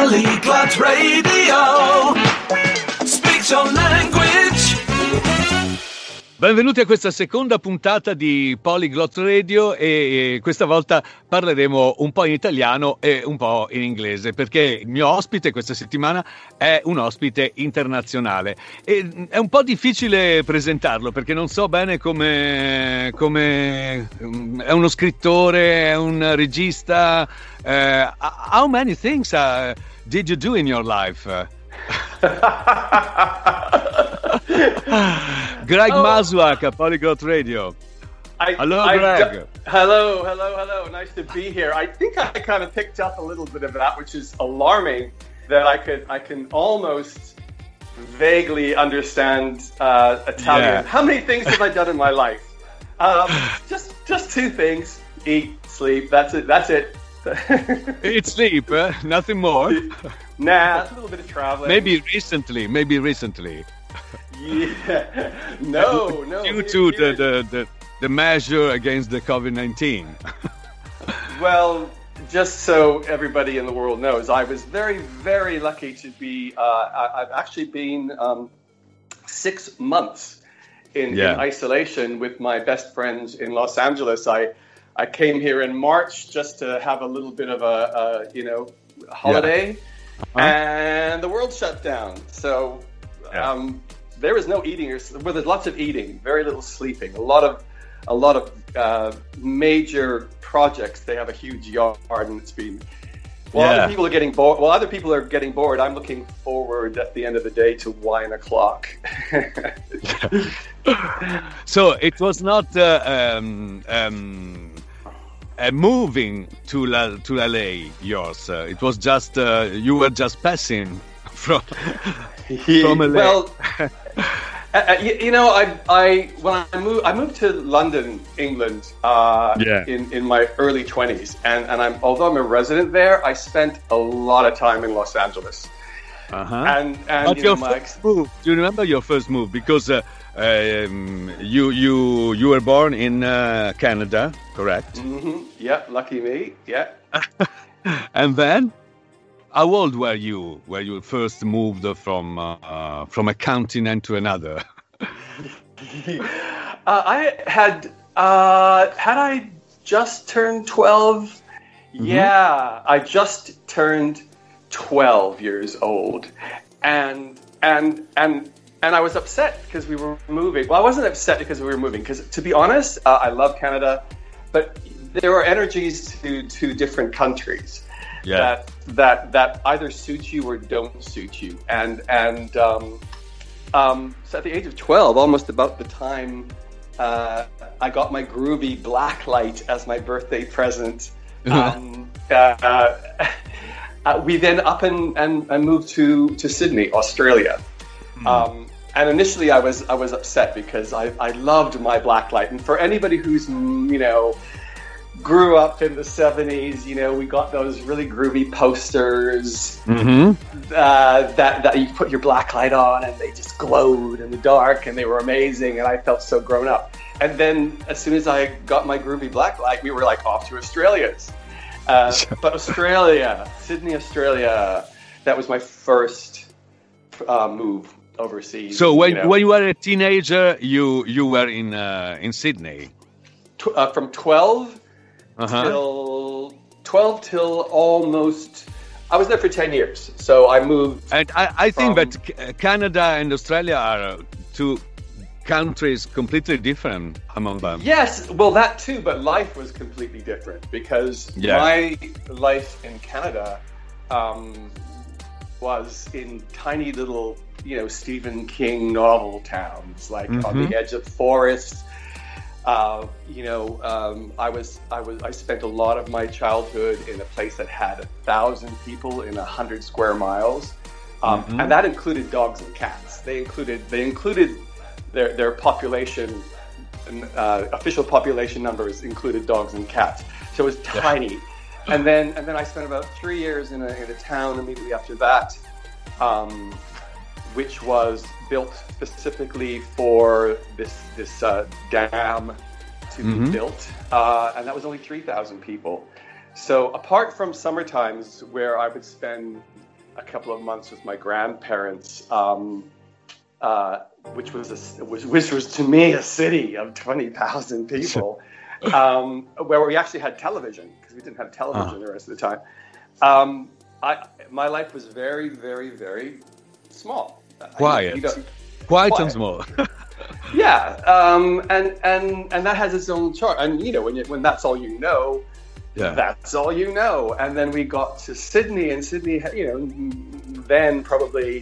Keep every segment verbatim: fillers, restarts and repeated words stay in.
Polyglot Radio. Speak your language. Benvenuti a questa seconda puntata di Polyglot Radio e questa volta parleremo un po' in italiano e un po' in inglese perché il mio ospite questa settimana è un ospite internazionale e è un po' difficile presentarlo perché non so bene come, come è uno scrittore, è un regista. Uh, how many things uh, did you do in your life? Greg oh. Masluak, Polyglot Radio. I, hello, I, Greg. I, hello, hello, hello. Nice to be here. I think I kind of picked up a little bit of that, which is alarming. That I could, I can almost vaguely understand uh, Italian. Yeah. How many things have I done in my life? Um, just, just two things: eat, sleep. That's it. That's it. Eat, sleep. Uh, nothing more. Nah, a little bit of traveling. Maybe recently. Maybe recently. Yeah. No, no. Due to the, the, the, the measure against the COVID nineteen. Well, just so everybody in the world knows, I was very, very lucky to be, uh, I, I've actually been um, six months in, yeah. in isolation with my best friends in Los Angeles. I, I came here in March just to have a little bit of a, a you know, holiday, yeah. uh-huh. and the world shut down. So, yeah. um, there was no eating, or well, there's lots of eating, very little sleeping. A lot of, a lot of uh, major projects. They have a huge yard, and it's been. While yeah. other people are getting bored, while other people are getting bored, I'm looking forward at the end of the day to wine o'clock. So it was not uh, um, um, uh, moving to La, to L A. Yours. Uh, it was just uh, you were just passing from from L A. Well. Uh, you, you know, I, I when I moved, I moved to London, England, uh, yeah. in, in my early twenties, and and I'm although I'm a resident there, I spent a lot of time in Los Angeles. Uh-huh. And and but you your know, my first move, do you remember your first move? Because uh, um, you you you were born in uh, Canada, correct? Mm-hmm. Yeah, lucky me. Yeah. And then. How old were you when you first moved from uh, from a continent to another? uh, I had uh, had I just turned twelve. Mm-hmm. Yeah, I just turned twelve years old, and and and and I was upset because we were moving. Well, I wasn't upset because we were moving. Because to be honest, uh, I love Canada, but there are energies to to different countries. Yeah. That that that either suit you or don't suit you, and and um, um, so at the age of twelve, almost about the time uh, I got my groovy black light as my birthday present, um, uh, uh, we then up and, and, and moved to, to Sydney, Australia. Mm. Um, and initially, I was I was upset because I I loved my black light, and for anybody who's you know. grew up in the seventies, you know, we got those really groovy posters mm-hmm. uh, that, that you put your black light on and they just glowed in the dark and they were amazing and I felt so grown up. And then as soon as I got my groovy black light, we were like off to Australia's. Uh, but Australia, Sydney, Australia, that was my first uh, move overseas. So when you know. when you were a teenager, you you were in uh, in Sydney? Tw- uh, from twelve Uh-huh. till twelve till almost I was there for ten years, so I moved. And I, I think from, that Canada and Australia are two countries completely different among them. Yes, well that too, but life was completely different because yeah. my life in Canada um, was in tiny little, you know, Stephen King novel towns, like mm-hmm. on the edge of forests. Uh, you know, um, I was, I was, I spent a lot of my childhood in a place that had a thousand people in a hundred square miles, um, mm-hmm. and that included dogs and cats. They included, they included their their population, uh, official population numbers included dogs and cats. So it was tiny, and then and then I spent about three years in a in a town immediately after that, um, which was built specifically for this this uh, dam to mm-hmm. be built, uh, and that was only three thousand people. So apart from summer times where I would spend a couple of months with my grandparents, um, uh, which was a, which, which was to me a city of twenty thousand people, um, where we actually had television because we didn't have television uh-huh. the rest of the time. Um, I my life was very, very, very small. Quiet, you know, quiet, quiet and small. Yeah, um, and and and that has its own charm. And you know, when you, when that's all you know, yeah. that's all you know. And then we got to Sydney, and Sydney, you know, then probably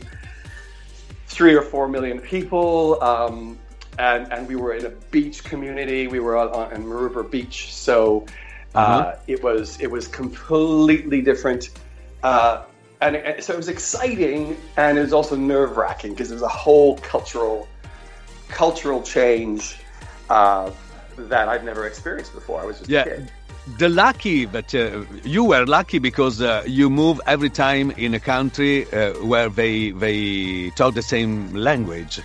three or four million people, um, and and we were in a beach community. We were on, on in Maroubra Beach, so uh, uh-huh. it was it was completely different. Uh, and, and so it was exciting, and it was also nerve-wracking because there was a whole cultural cultural change uh, that I've never experienced before. I was just yeah. a kid. The lucky, but uh, you were lucky because uh, you move every time in a country uh, where they they talk the same language.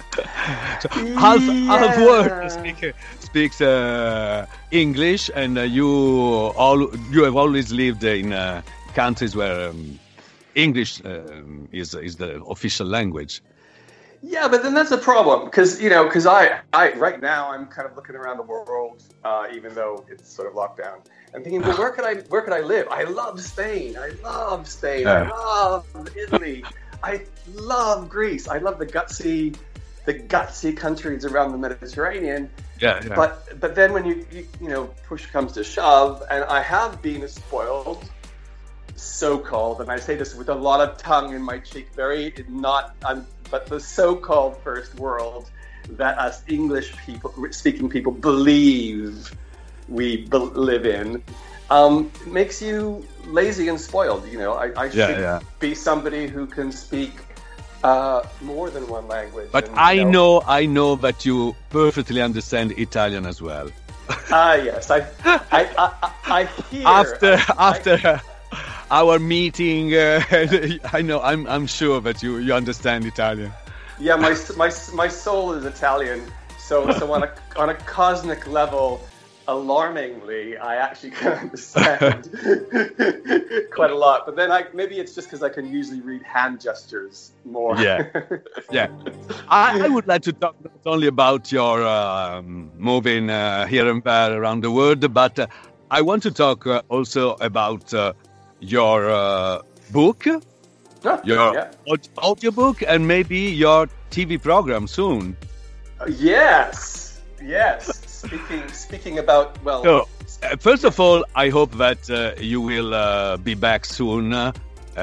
So half yeah. half world speak, speaks uh, English, and uh, you all you have always lived in uh, countries where um, English uh, is is the official language. Yeah, but then that's a problem because, you know, because I, I, right now I'm kind of looking around the world, uh, even though it's sort of locked down, and thinking, well, where could I, where could I live? I love Spain. I love Spain. Yeah. I love Italy. I love Greece. I love the gutsy, the gutsy countries around the Mediterranean. Yeah, yeah. But, but then when you, you, you know, push comes to shove, and I have been spoiled, so-called, and I say this with a lot of tongue in my cheek, very not, I'm, but the so-called first world that us English people, speaking people, believe we be- live in, um, makes you lazy and spoiled. You know, I, I should yeah, yeah. be somebody who can speak uh, more than one language. But and, I you know, know, I know that you perfectly understand Italian as well. Ah, uh, yes, I, I, I, I hear after I, after. I, Our meeting, uh, I know, I'm I'm sure that you, you understand Italian. Yeah, my my my soul is Italian, so so on a on a cosmic level, alarmingly, I actually can understand quite a lot. But then I maybe it's just because I can usually read hand gestures more. Yeah, yeah. I, I would like to talk not only about your um, moving uh, here and there around the world, but uh, I want to talk uh, also about. Uh, Your uh, book, oh, your yeah. audio book, and maybe your T V program soon. Uh, yes, yes. Speaking speaking about well. So, uh, first of all, I hope that uh, you will uh, be back soon, uh,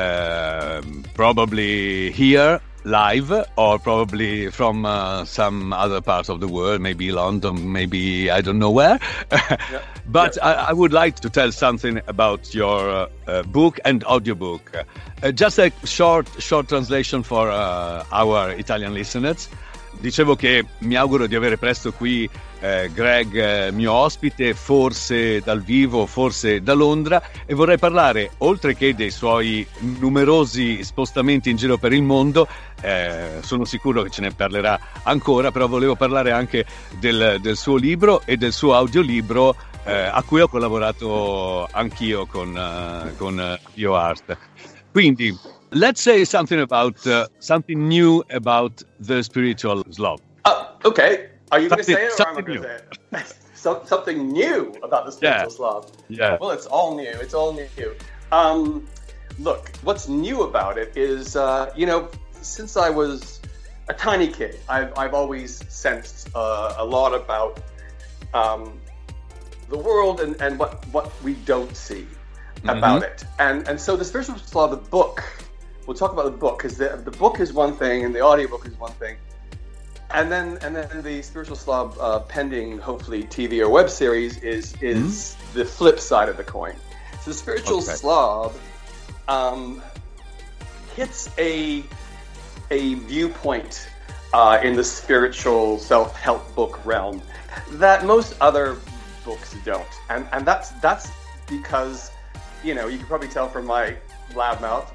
probably here live, or probably from uh, some other part of the world, maybe London, maybe I don't know where. Yeah. But yeah. I, I would like to tell something about your uh, uh, book and audiobook. Uh, just a short, short translation for uh, our Italian listeners. Dicevo che mi auguro di avere presto qui eh, Greg, eh, mio ospite, forse dal vivo, forse da Londra, e vorrei parlare, oltre che dei suoi numerosi spostamenti in giro per il mondo, eh, sono sicuro che ce ne parlerà ancora, però volevo parlare anche del, del suo libro e del suo audiolibro, eh, a cui ho collaborato anch'io con, uh, con uh, BioArt. Quindi, let's say something about uh, something new about the spiritual Slav. Uh, okay. Are you going to say it or am I going to say it? so, something new about the spiritual yeah. Slav. Yeah. Well, it's all new. It's all new. Um, look, what's new about it is, uh, you know, since I was a tiny kid, I've, I've always sensed uh, a lot about um, the world and, and what, what we don't see about mm-hmm. it. And and so the Spiritual Slav, the book, we'll talk about the book, because the, the book is one thing and the audiobook is one thing. And then and then the Spiritual Slav uh, pending, hopefully, T V or web series is is mm-hmm. the flip side of the coin. So the Spiritual okay. Slav um, hits a a viewpoint uh, in the spiritual self-help book realm that most other books don't. And and that's that's because, you know, you can probably tell from my loud mouth.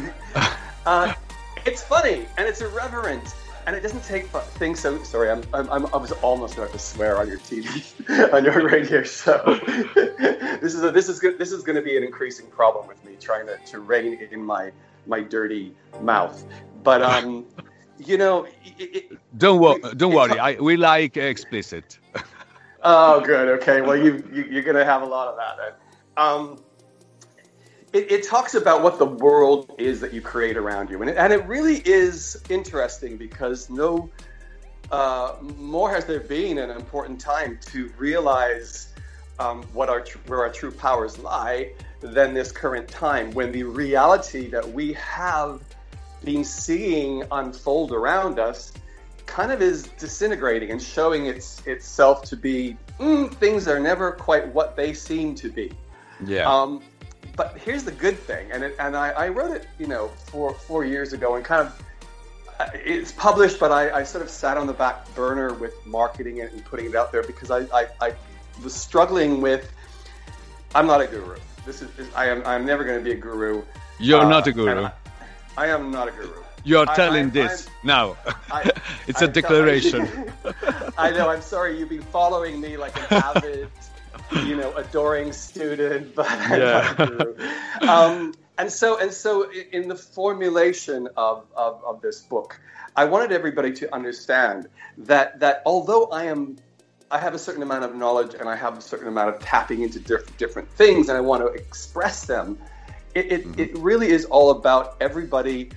uh, it's funny and it's irreverent and it doesn't take things so. Sorry, I'm, I'm, I'm I was almost about to swear on your T V, on your radio show. this is a, this is good. This is going to be an increasing problem with me trying to, to rein in my my dirty mouth. But um, you know, it, it, don't wo- it, don't worry. I, we like explicit. Oh, good. Okay. Well, you, you you're gonna have a lot of that then. Um, it, it talks about what the world is that you create around you, and it, and it really is interesting because no uh, more has there been an important time to realize um, what our tr- where our true powers lie than this current time, when the reality that we have been seeing unfold around us kind of is disintegrating and showing its itself to be mm, things are never quite what they seem to be. Yeah. Um, but here's the good thing, and it, and I, I wrote it, you know, four four years ago, and kind of uh, it's published, but I, I sort of sat on the back burner with marketing it and putting it out there because I I, I was struggling with. I'm not a guru. This is, is I am I'm never going to be a guru. You're uh, not a guru. I, I am not a guru. You're telling I, I, this I'm, now. I, it's I, a declaration. I know. I'm sorry. You've been following me like an avid, you know, adoring student, but I'm Yeah. not a guru. Um, and so, and so, in the formulation of, of of this book, I wanted everybody to understand that that although I am, I have a certain amount of knowledge and I have a certain amount of tapping into diff- different things, and I want to express them. It it, mm-hmm. it really is all about everybody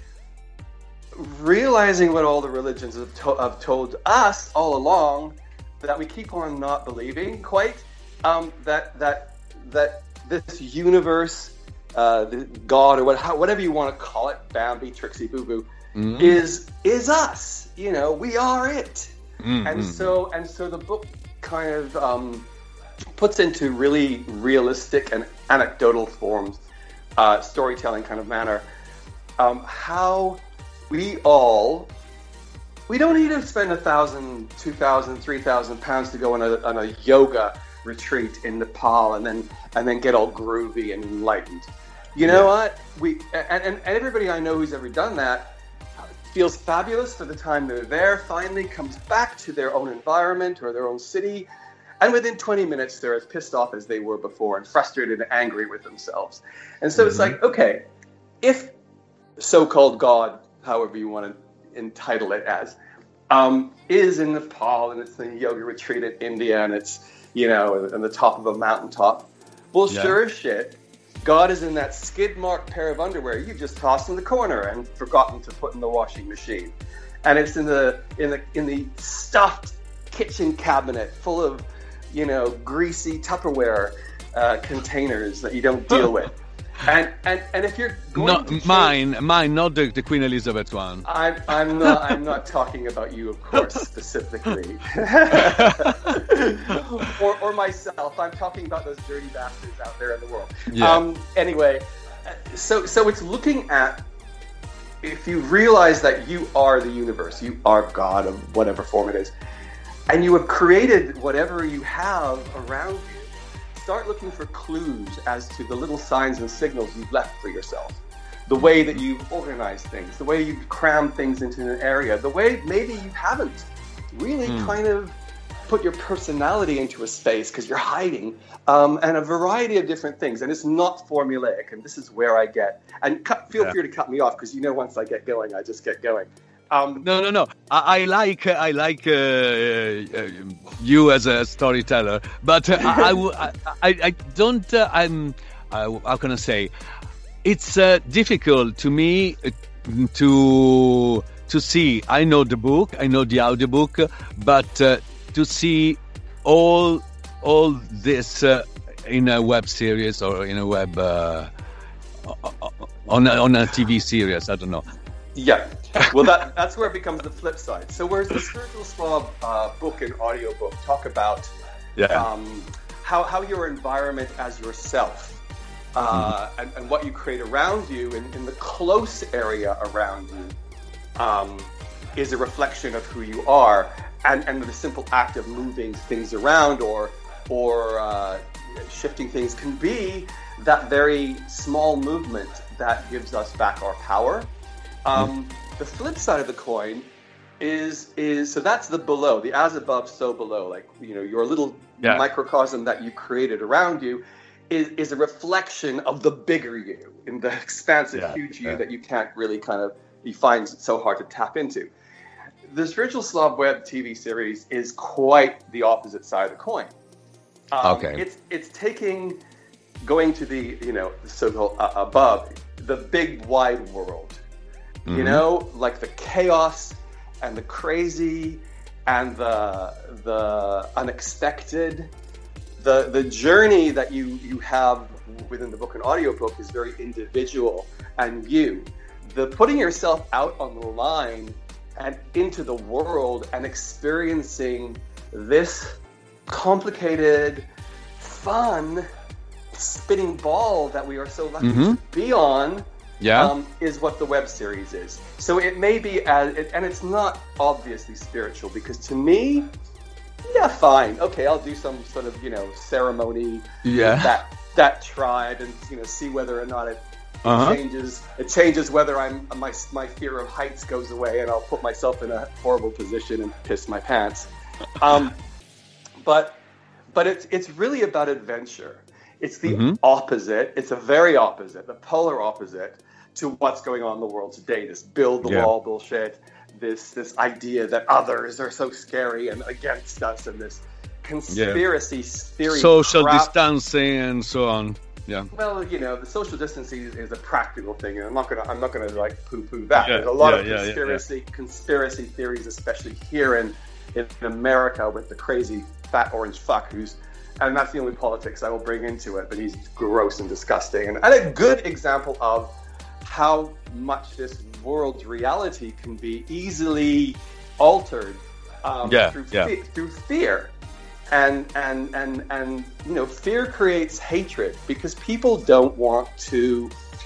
realizing what all the religions have, to- have told us all along, that we keep on not believing quite, um, that that that this universe, uh, the God or what, how, whatever you want to call it, Bambi, Trixie, Boo Boo, mm-hmm. is is us. You know, we are it. Mm-hmm. And so and so the book kind of um, puts into really realistic and anecdotal forms, uh, storytelling kind of manner, um, how we all, we don't need to spend a thousand, two thousand, three thousand pounds to go on a, on a yoga retreat in Nepal and then and then get all groovy and enlightened. You know yeah. what? We and, and everybody I know who's ever done that feels fabulous for the time they're there, finally comes back to their own environment or their own city, and within twenty minutes they're as pissed off as they were before and frustrated and angry with themselves. And so mm-hmm. it's like, okay, if so-called God, however you want to entitle it as, um, is in Nepal and it's a yoga retreat in India and it's, you know, on the top of a mountaintop. Well, yeah. sure as shit, God is in that skid-marked pair of underwear you just tossed in the corner and forgotten to put in the washing machine. And it's in the in the in the stuffed kitchen cabinet full of, you know, greasy Tupperware uh, containers that you don't deal with. And, and and if you're going not to change, mine, mine, not the, the Queen Elizabeth one. I'm I'm not I'm not talking about you, of course, specifically, or or myself. I'm talking about those dirty bastards out there in the world. Yeah. Um. Anyway, so so it's looking at, if you realize that you are the universe, you are God of whatever form it is, and you have created whatever you have around you. Start looking for clues as to the little signs and signals you've left for yourself. The way that you've organized things, the way you've crammed things into an area, the way maybe you haven't really mm. kind of put your personality into a space because you're hiding, um, and a variety of different things. And it's not formulaic, and this is where I get, and cut, feel yeah. free to cut me off because you know once I get going, I just get going. Um, no, no, no. I, I like I like uh, uh, you as a storyteller, but uh, I, I, I, I don't. Uh, I'm. Uh, how can I say? It's uh, difficult to me to to see. I know the book, I know the audiobook, but uh, to see all all this uh, in a web series or in a web uh, on a, on a T V series. I don't know. Yeah. Well, that that's where it becomes the flip side. So whereas the Spiritual Slob uh, book and audiobook talk about yeah. um, how, how your environment as yourself uh, mm-hmm. and, and what you create around you in, in the close area around you um, is a reflection of who you are. And, and the simple act of moving things around or, or uh, shifting things can be that very small movement that gives us back our power. Um, the flip side of the coin is is so that's the below, the as above, so below, like, you know, your little yeah. microcosm that you created around you is, is a reflection of the bigger you, in the expansive, yeah, huge you yeah. that you can't really kind of, you find it so hard to tap into. The Spiritual Slav web T V series is quite the opposite side of the coin. Um, okay. It's it's taking, going to the, you know, so-called uh, above, the big wide world, mm-hmm. you know, like the chaos and the crazy and the the unexpected. The the journey that you, you have within the book and audiobook is very individual and you. The putting yourself out on the line and into the world and experiencing this complicated, fun, spinning ball that we are so lucky mm-hmm. to be on yeah. um, is what the web series is. So it may be, as, it, and it's not obviously spiritual, because to me, yeah, fine. Okay, I'll do some sort of, you know, ceremony yeah. with that, that tribe and, you know, see whether or not it Uh-huh. It changes. It changes whether I'm my my fear of heights goes away, and I'll put myself in a horrible position and piss my pants. Um, but but it's it's really about adventure. It's the mm-hmm. opposite. It's a very opposite, the polar opposite to what's going on in the world today. This build the yeah. wall bullshit. This this idea that others are so scary and against us, and this conspiracy yeah. theory, social crap. distancing, and so on. Yeah. Well, you know, the social distancing is, is a practical thing, and I'm not gonna, I'm not gonna like poo-poo that. Yeah, There's a lot yeah, of yeah, conspiracy, yeah, yeah. conspiracy theories, especially here in, in America, with the crazy fat orange fuck who's, and that's the only politics I will bring into it. But he's gross and disgusting, and, and a good example of how much this world's reality can be easily altered um, yeah, through yeah. fe- through fear. And, and and and you know, fear creates hatred, because people don't want to.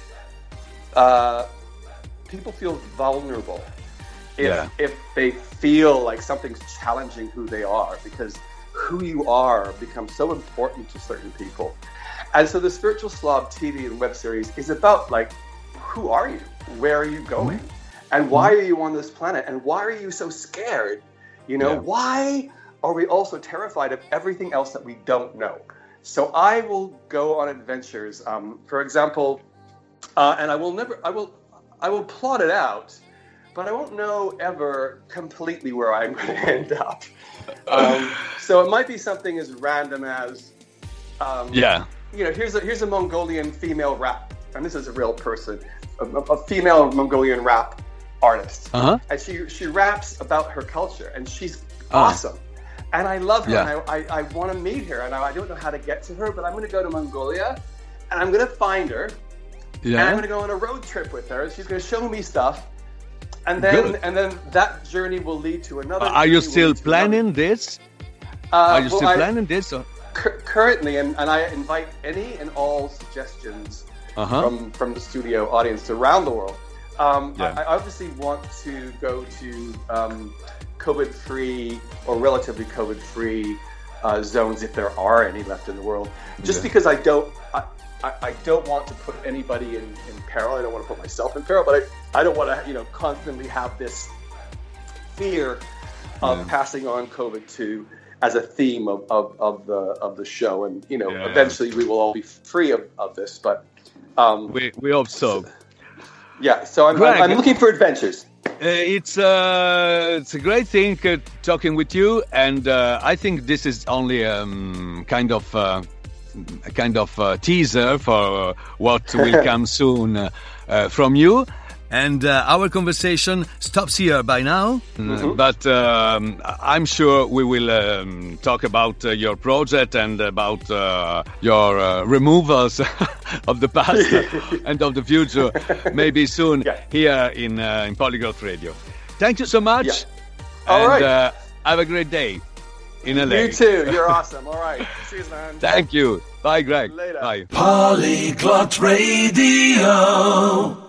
Uh, people feel vulnerable if yeah. if they feel like something's challenging who they are, because who you are becomes so important to certain people. And so the Spiritual Slav T V and web series is about, like, who are you? Where are you going? Mm-hmm. And why are you on this planet? And why are you so scared? You know, yeah. why are we also terrified of everything else that we don't know? So I will go on adventures. Um, for example, uh, and I will never, I will, I will plot it out, but I won't know ever completely where I'm going to end up. Um, so it might be something as random as, um, yeah, you know, here's a here's a Mongolian female rap, and this is a real person, a, a female Mongolian rap artist, uh-huh. and she she raps about her culture, and she's uh. awesome. And I love her, yeah. and I, I, I want to meet her, and I, I don't know how to get to her, but I'm going to go to Mongolia, and I'm going to find her, yeah. and I'm going to go on a road trip with her. She's going to show me stuff, and then Good. and then that journey will lead to another. Uh, are you still planning this? Uh, are you well, still I, planning this? Or? Cu- currently, and, and I invite any and all suggestions uh-huh. from, from the studio audience around the world. Um, yeah. I, I obviously want to go to um, COVID-free or relatively COVID-free uh, zones, if there are any left in the world. Just yeah. because I don't, I, I, I don't want to put anybody in, in peril. I don't want to put myself in peril, but I, I don't want to, you know, constantly have this fear of yeah. passing on COVID to as a theme of, of, of the of the show. And you know, yeah. eventually we will all be free of, of this. But um, we we hope so. Yeah. So I'm, Greg, I'm, I'm looking for adventures. Uh, it's uh, it's a great thing uh, talking with you, and uh, I think this is only um, kind of uh, a kind of uh, teaser for uh, what will come soon uh, uh, from you. And uh, our conversation stops here by now, mm-hmm. but um, I'm sure we will um, talk about uh, your project and about uh, your uh, removals of the past and of the future, maybe soon yeah. here in uh, in Polyglot Radio. Thank you so much. Yeah. All and, right. Uh, have a great day in L A. You too. You're awesome. All right. Cheers, man. Thank you. Bye, Greg. Later. Bye. Polyglot Radio.